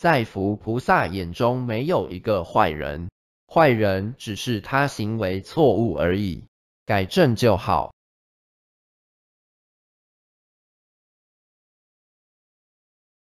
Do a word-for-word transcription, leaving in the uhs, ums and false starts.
在佛菩萨眼中没有一个坏人，坏人只是他行为错误而已，改正就好。